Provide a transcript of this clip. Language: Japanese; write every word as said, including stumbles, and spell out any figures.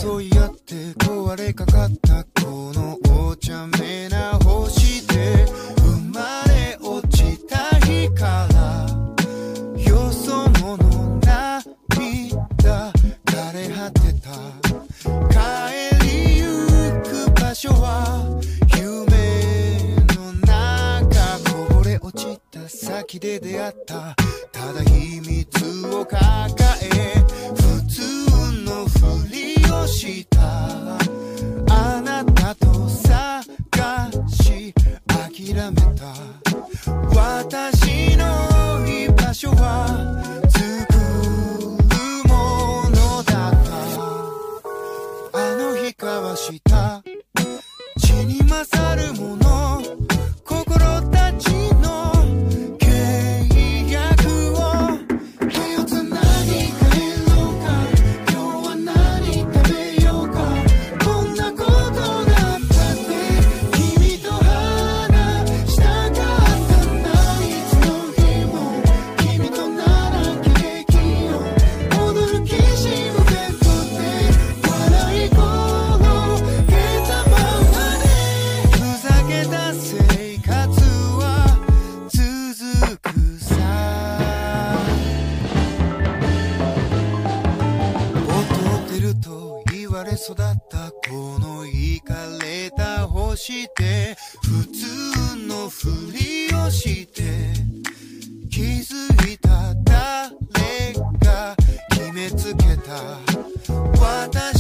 争い合って壊れかかったこのお茶目な星で生まれ落ちた日からよそ者涙枯れ果てた帰りゆく場所は夢の中こぼれ落ちた先で出会ったただ秘密を抱え普通のふりをしたあなたと探し諦めた私の居場所は作るものだったあの日交わした血に勝るもの心たちの契約を手をつなぎ帰ろうか今日は何食べようかこんなことだったって君と話したかったんだいつの日も君とならケーキを踊るきしむベッドで笑い転げたままでふざけた生活は続くさ劣ってると言われ育ったこのイかれた星で普通のふりをして気づいた誰が決めつけた私